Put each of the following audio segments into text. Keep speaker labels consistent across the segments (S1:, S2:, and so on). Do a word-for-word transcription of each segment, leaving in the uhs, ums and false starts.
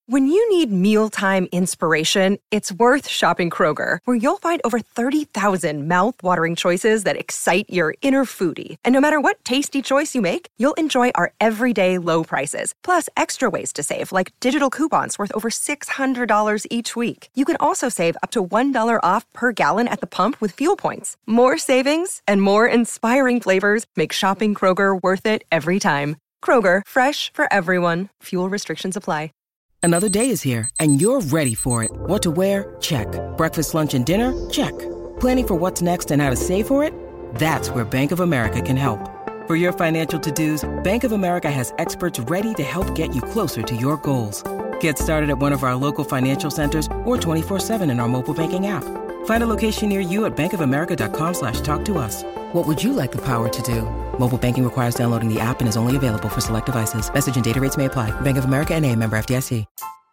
S1: When you need mealtime inspiration, it's worth shopping Kroger, where you'll find over thirty thousand mouth-watering choices that excite your inner foodie. And no matter what tasty choice you make, you'll enjoy our everyday low prices, plus extra ways to save, like digital coupons worth over six hundred dollars each week. You can also save up to one dollar off per gallon at the pump with fuel points. More savings and more inspiring flavors make shopping Kroger worth it every time. Kroger, fresh for everyone. Fuel restrictions apply.
S2: Another day is here, and you're ready for it. What to wear? Check. Breakfast, lunch, and dinner? Check. Planning for what's next and how to save for it? That's where Bank of America can help. For your financial to-dos, Bank of America has experts ready to help get you closer to your goals. Get started at one of our local financial centers or twenty-four seven in our mobile banking app. Find a location near you at bankofamerica.com slash talk to us. What would you like the power to do? Mobile banking requires downloading the app and is only available for select devices. Message and data rates may apply. Bank of America N A, member F D I C.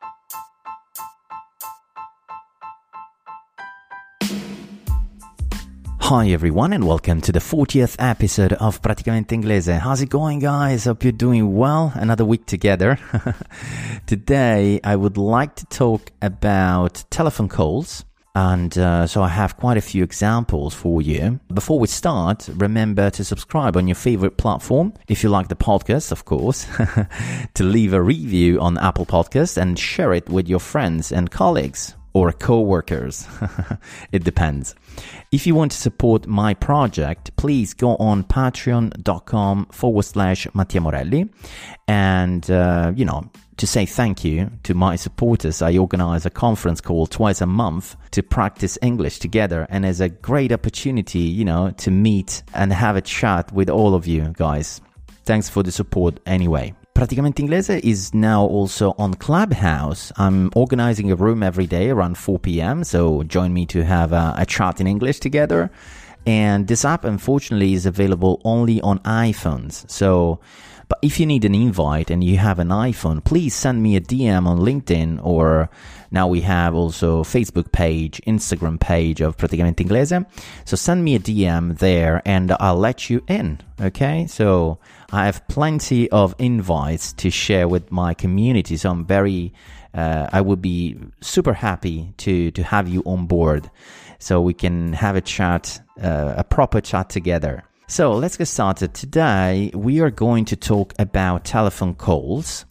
S3: Hi everyone and welcome to the fortieth episode of Praticamente Inglese. How's it going, guys? Hope you're doing well. Another week together. Today I would like to talk about telephone calls. And uh, so I have quite a few examples for you. Before we start, remember to subscribe on your favorite platform, if you like the podcast, of course, to leave a review on Apple Podcasts and share it with your friends and colleagues or co-workers. It depends. If you want to support my project, please go on patreon.com forward slash Mattia Morelli. And, uh, you know, to say thank you to my supporters, I organize a conference call twice a month to practice English together. And it's a great opportunity, you know, to meet and have a chat with all of you guys. Thanks for the support anyway. Praticamente Inglese is now also on Clubhouse. I'm organizing a room every day around four p.m. So join me to have a, a chat in English together. And this app, unfortunately, is available only on iPhones. So, but if you need an invite and you have an iPhone, please send me a D M on LinkedIn, or now we have also Facebook page, Instagram page of Praticamente Inglese. So send me a D M there and I'll let you in. Okay, so I have plenty of invites to share with my community. So I'm very, uh, I would be super happy to, to have you on board so we can have a chat, uh, a proper chat together. So let's get started. Today we are going to talk about telephone calls.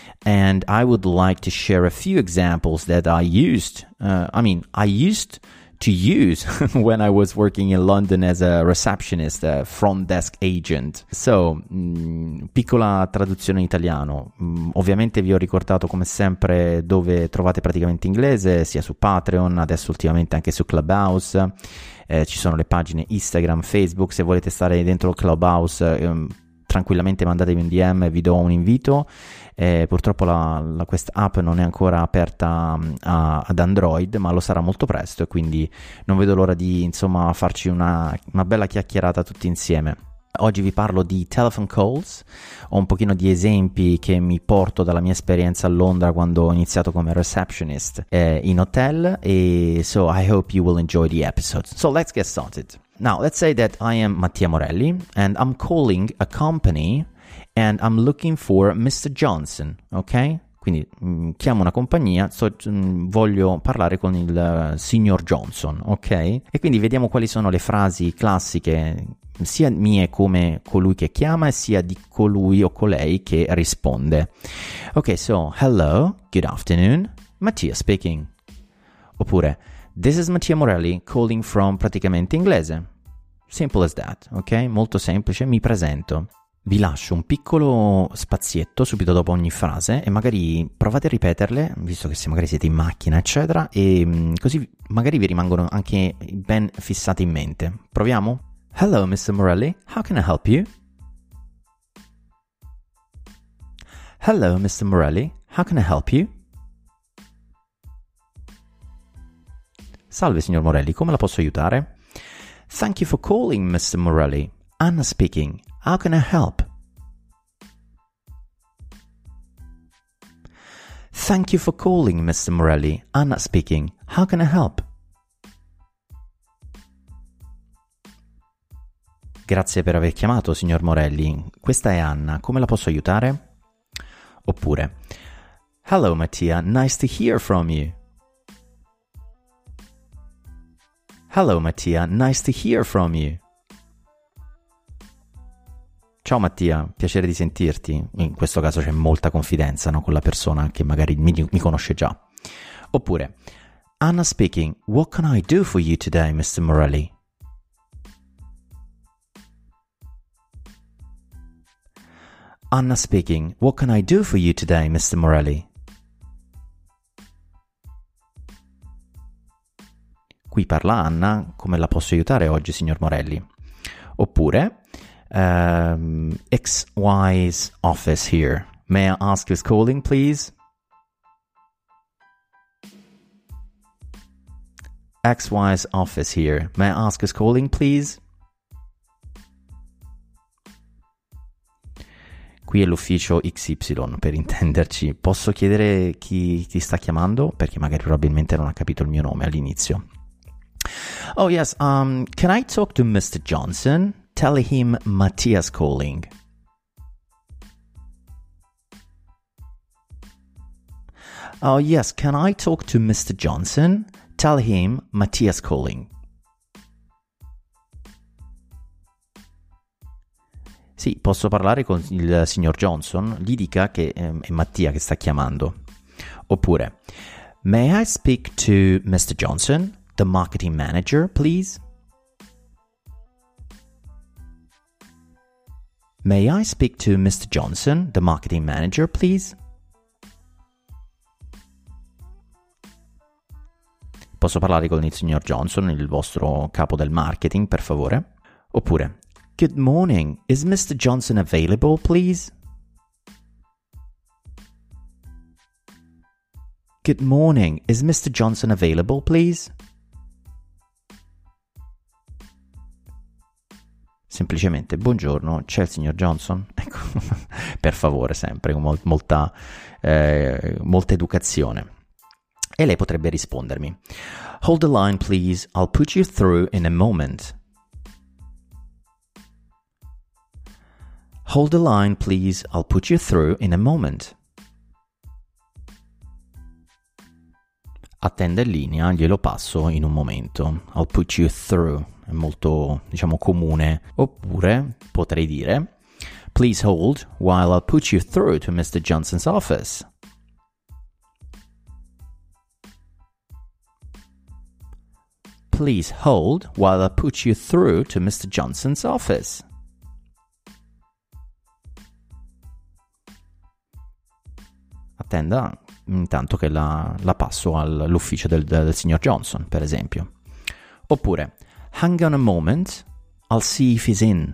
S3: And I would like to share a few examples that I used. Uh, I mean, I used to use when I was working in London as a receptionist, a front desk agent. So, mh, piccola traduzione in italiano. Mh, ovviamente vi ho ricordato come sempre dove trovate Praticamente Inglese, sia su Patreon, adesso ultimamente anche su Clubhouse. Eh, ci sono le pagine Instagram, Facebook. Se volete stare dentro il Clubhouse, ehm, tranquillamente mandatevi un D M e vi do un invito. Eh, purtroppo la, la, questa app non è ancora aperta a, ad Android, ma lo sarà molto presto, e quindi non vedo l'ora di, insomma, farci una, una bella chiacchierata tutti insieme. Oggi vi parlo di telephone calls, ho un pochino di esempi che mi porto dalla mia esperienza a Londra quando ho iniziato come receptionist eh, in hotel, e so I hope you will enjoy the episode. So let's get started. Now let's say that I am Mattia Morelli and I'm calling a company and I'm looking for mister Johnson, ok? Quindi mh, chiamo una compagnia, so, mh, voglio parlare con il uh, signor Johnson, ok? E quindi vediamo quali sono le frasi classiche, sia mie come colui che chiama, e sia di colui o colei che risponde. Ok, so, hello, good afternoon, Mattia speaking. Oppure, this is Mattia Morelli calling from Praticamente Inglese. Simple as that, ok? Molto semplice, mi presento. Vi lascio un piccolo spazietto subito dopo ogni frase e magari provate a ripeterle, visto che se magari siete in macchina, eccetera, e mh, così magari vi rimangono anche ben fissate in mente. Proviamo? Hello, mister Morelli, how can I help you? Hello, mister Morelli, how can I help you? Salve, signor Morelli, come la posso aiutare? Thank you for calling, mister Morelli. Anna speaking. How can I help? Thank you for calling, mister Morelli. Anna speaking. How can I help? Grazie per aver chiamato, signor Morelli. Questa è Anna. Come la posso aiutare? Oppure, Hello Mattia, nice to hear from you. Hello Mattia, nice to hear from you. Ciao Mattia, piacere di sentirti. In questo caso c'è molta confidenza, no? Con la persona che magari mi, mi conosce già. Oppure, Anna speaking, what can I do for you today, mister Morelli? Anna speaking, what can I do for you today, mister Morelli? Qui parla Anna, come la posso aiutare oggi, signor Morelli? Oppure, um, X Y's office here. May I ask who's calling, please? X Y's office here. May I ask who's calling, please? Qui è l'ufficio X Y, per intenderci. Posso chiedere chi ti sta chiamando? Perché magari probabilmente non ha capito il mio nome all'inizio. Oh yes, um, can I talk to mister Johnson? Tell him Mattia's calling. Oh yes, can I talk to mister Johnson? Tell him Mattia's calling. Sì, posso parlare con il signor Johnson? Gli dica che ehm, è Mattia che sta chiamando. Oppure, may I speak to mister Johnson, the marketing manager, please? May I speak to mister Johnson, the marketing manager, please? Posso parlare con il signor Johnson, il vostro capo del marketing, per favore? Oppure, good morning, is mister Johnson available, please? Good morning, is mister Johnson available, please? Semplicemente, buongiorno, c'è il signor Johnson? Ecco, per favore, sempre, con mol- molta, eh, molta educazione. E lei potrebbe rispondermi, hold the line please, I'll put you through in a moment. Hold the line please, I'll put you through in a moment. Attenda in linea, glielo passo in un momento. I'll put you through, è molto, diciamo, comune. Oppure potrei dire, please hold while I'll put you through to mister Johnson's office. Please hold while I put you through to mister Johnson's office. Attenda intanto che la, la passo all'ufficio del, del signor Johnson, per esempio. Oppure, hang on a moment, I'll see if he's in.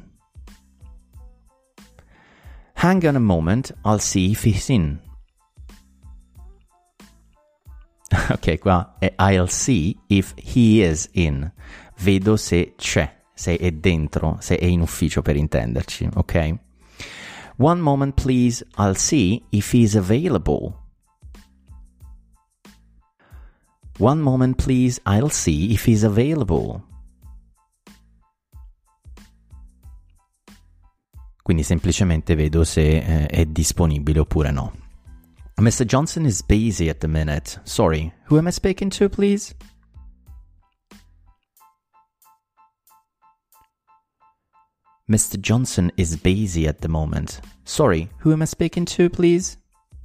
S3: Hang on a moment, I'll see if he's in. Ok, qua è I'll see if he is in. Vedo se c'è, se è dentro, se è in ufficio, per intenderci, ok? One moment please, I'll see if he's available. One moment please, I'll see if he's available. Quindi semplicemente vedo se eh, è disponibile oppure no. mister Johnson is busy at the minute. Sorry, who am I speaking to, please? mister Johnson is busy at the moment. Sorry, who am I speaking to, please?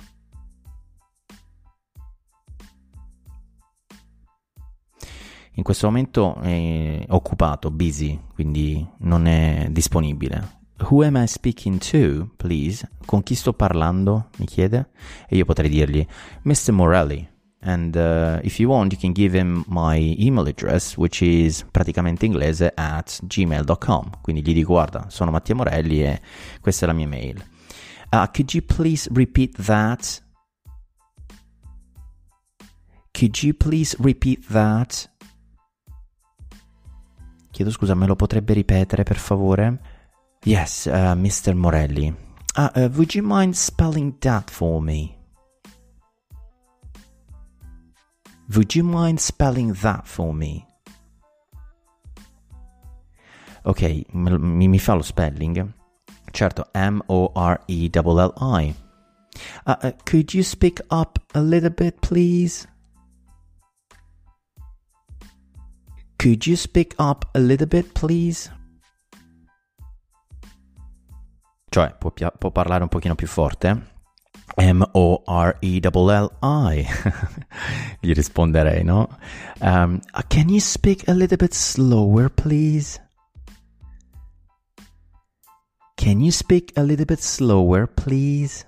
S3: In questo momento è occupato, busy, quindi non è disponibile. Who am I speaking to, please? Con chi sto parlando? Mi chiede. E io potrei dirgli, mister Morelli. And uh, if you want, you can give him my email address, which is praticamente inglese at gmail dot com. Quindi gli dico, guarda, sono Mattia Morelli e questa è la mia mail. Uh, could you please repeat that? Could you please repeat that? Chiedo scusa, me lo potrebbe ripetere, per favore? Yes, uh, mister Morelli. Uh, uh, would you mind spelling that for me? Would you mind spelling that for me? Ok, mi, mi fa lo spelling. Certo, M O R E L L I. Uh, uh, could you speak up a little bit, please? Could you speak up a little bit, please? Cioè, può, può parlare un pochino più forte? M O R E L L I. Gli risponderei, no? Um, uh, can you speak a little bit slower, please? Can you speak a little bit slower, please?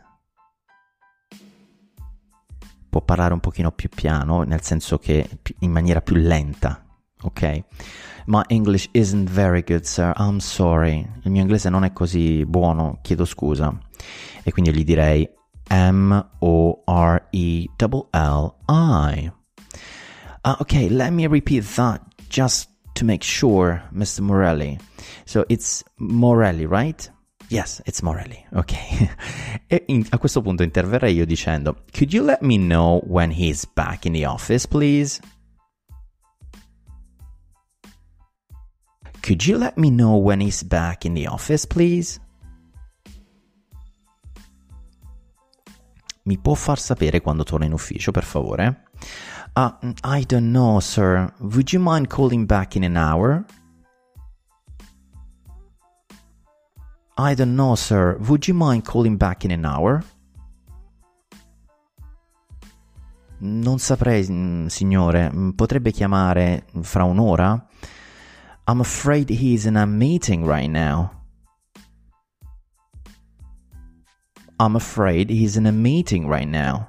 S3: Può parlare un pochino più piano, nel senso che in maniera più lenta, ok? My English isn't very good, sir. I'm sorry. Il mio inglese non è così buono, chiedo scusa. E quindi gli direi M O R E L L I. Uh, okay, let me repeat that just to make sure, Mister Morelli. So it's Morelli, right? Yes, it's Morelli. Ok. E in, a questo punto interverrei io dicendo, could you let me know when he's back in the office, please? Could you let me know when he's back in the office, please? Mi può far sapere quando torna in ufficio, per favore? Uh, I don't know, sir. Would you mind calling back in an hour? I don't know, sir. Would you mind calling back in an hour? Non saprei, signore. Potrebbe chiamare fra un'ora? I'm afraid he's in a meeting right now. I'm afraid he's in a meeting right now.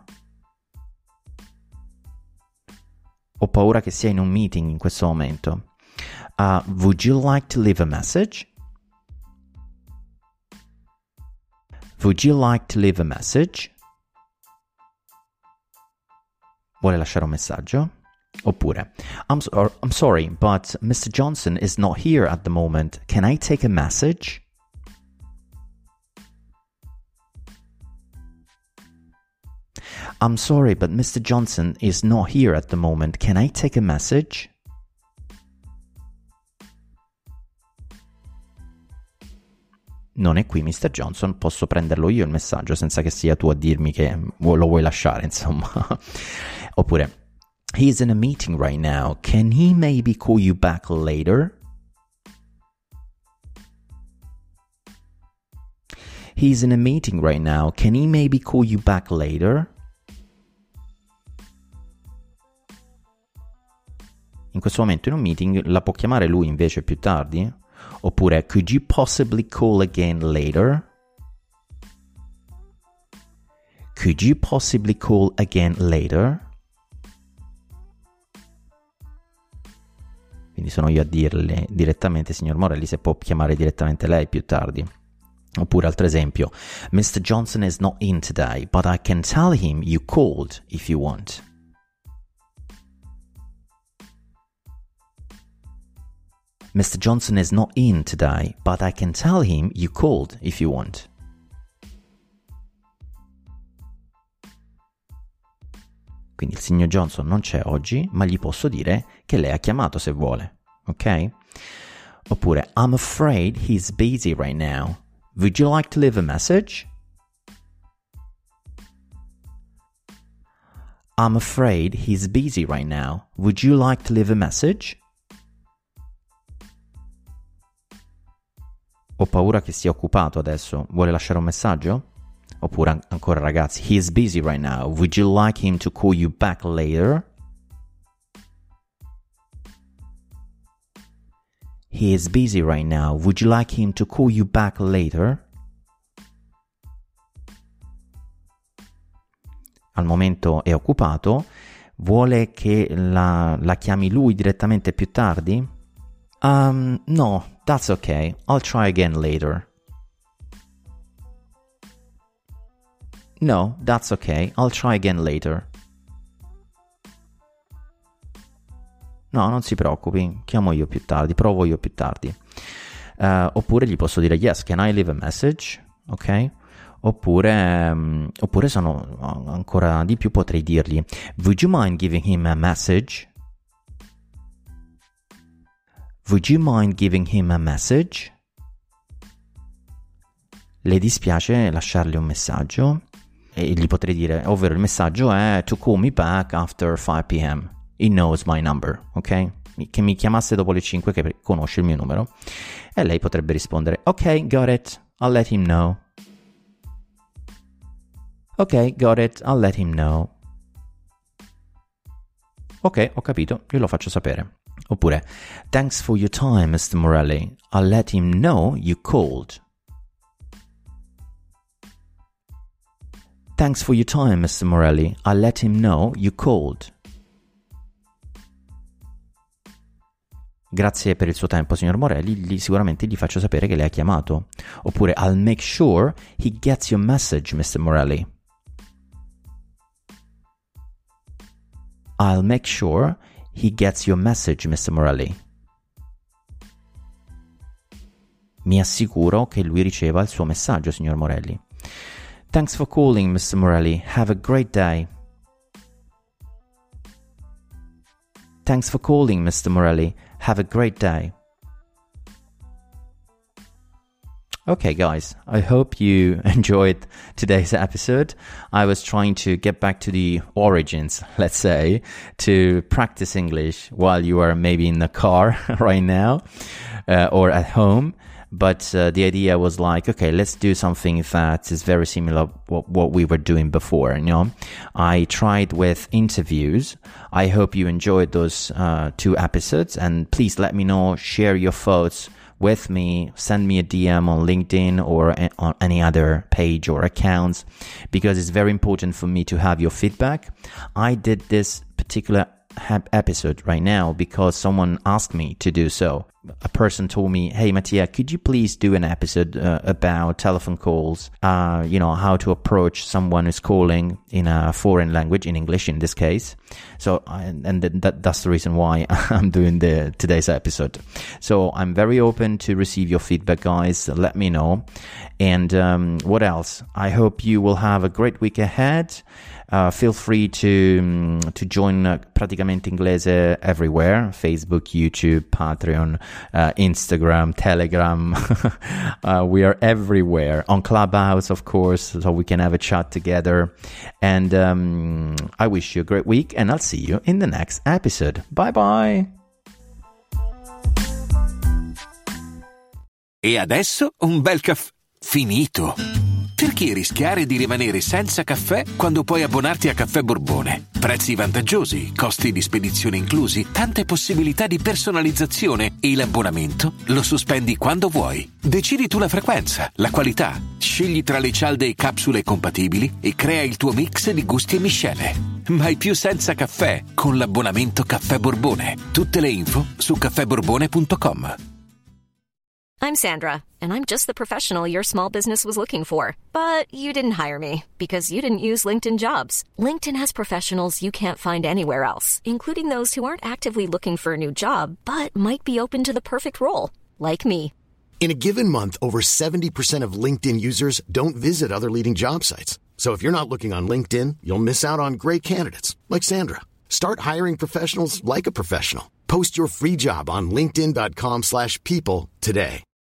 S3: Ho paura che sia in un meeting in questo momento. Uh, would you like to leave a message? Would you like to leave a message? Vuole lasciare un messaggio? Oppure, I'm, so- I'm sorry, but Mister Johnson is not here at the moment. Can I take a message? I'm sorry, but Mister Johnson is not here at the moment. Can I take a message? Non è qui mister Johnson, posso prenderlo io il messaggio senza che sia tu a dirmi che lo vuoi lasciare, insomma. Oppure, he's in a meeting right now. Can he maybe call you back later? He's in a meeting right now. Can he maybe call you back later? In questo momento in un meeting la può chiamare lui invece più tardi? Oppure, could you possibly call again later? Could you possibly call again later? Quindi sono io a dirle direttamente, signor Morelli, se può chiamare direttamente lei più tardi. Oppure altro esempio, mister Johnson is not in today, but I can tell him you called if you want. mister Johnson is not in today, but I can tell him you called if you want. Quindi il signor Johnson non c'è oggi, ma gli posso dire che lei ha chiamato se vuole, ok? Oppure, I'm afraid he's busy right now. Would you like to leave a message? I'm afraid he's busy right now. Would you like to leave a message? Ho paura che sia occupato adesso. Vuole lasciare un messaggio? Oppure ancora ragazzi, he is busy right now. Would you like him to call you back later? He is busy right now. Would you like him to call you back later? Al momento è occupato. Vuole che la, la chiami lui direttamente più tardi? Um, no, that's okay. I'll try again later. No, that's okay. I'll try again later. No, non si preoccupi, chiamo io più tardi, provo io più tardi. Uh, oppure gli posso dire, yes, can I leave a message? Ok? Oppure, um, oppure sono ancora di più, potrei dirgli, would you mind giving him a message? Would you mind giving him a message? Le dispiace lasciargli un messaggio? e gli potrei dire, ovvero il messaggio è to call me back after five p.m. He knows my number, ok? Che mi chiamasse dopo le cinque, che conosce il mio numero. E lei potrebbe rispondere, ok, got it, I'll let him know. Ok, got it, I'll let him know. Ok, ho capito, io lo faccio sapere. Oppure, thanks for your time, mister Morelli. I'll let him know you called. Thanks for your time, mister Morelli. I'll let him know you called. Grazie per il suo tempo, signor Morelli. Gli, sicuramente gli faccio sapere che lei ha chiamato. Oppure, I'll make sure he gets your message, mister Morelli. I'll make sure he gets your message, mister Morelli. Mi assicuro che lui riceva il suo messaggio, signor Morelli. Thanks for calling, mister Morelli. Have a great day. Thanks for calling, mister Morelli. Have a great day. Okay, guys, I hope you enjoyed today's episode. I was trying to get back to the origins, let's say, to practice English while you are maybe in the car right now uh, or at home. But uh, the idea was like, okay, let's do something that is very similar to what, what we were doing before, you know. I tried with interviews. I hope you enjoyed those uh, two episodes. And please let me know, share your thoughts with me, send me a D M on LinkedIn or a- on any other page or accounts, because it's very important for me to have your feedback. I did this particular episode right now because someone asked me to do so. A person told me, hey Mattia, could you please do an episode uh, about telephone calls, uh, you know, how to approach someone who's calling in a foreign language, in English in this case. So, and, and that, that's the reason why I'm doing the today's episode. So I'm very open to receive your feedback, guys. Let me know. And um, what else? I hope you will have a great week ahead. Uh, feel free to um, to join uh, Praticamente Inglese everywhere: Facebook, YouTube, Patreon, uh, Instagram, Telegram. uh, we are everywhere. On Clubhouse, of course, so we can have a chat together. And um, I wish you a great week, and I'll see you in the next episode. Bye bye.
S4: E adesso un bel caffè finito. Perché rischiare di rimanere senza caffè quando puoi abbonarti a Caffè Borbone? Prezzi vantaggiosi, costi di spedizione inclusi, tante possibilità di personalizzazione e l'abbonamento lo sospendi quando vuoi. Decidi tu la frequenza, la qualità, scegli tra le cialde e capsule compatibili e crea il tuo mix di gusti e miscele. Mai più senza caffè con l'abbonamento Caffè Borbone. Tutte le info su caffè borbone punto com.
S5: I'm Sandra, and I'm just the professional your small business was looking for. But you didn't hire me because you didn't use LinkedIn Jobs. LinkedIn has professionals you can't find anywhere else, including those who aren't actively looking for a new job, but might be open to the perfect role, like me.
S6: In a given month, over seventy percent of LinkedIn users don't visit other leading job sites. So if you're not looking on LinkedIn, you'll miss out on great candidates, like Sandra. Start hiring professionals like a professional. Post your free job on linkedin dot com slash people today.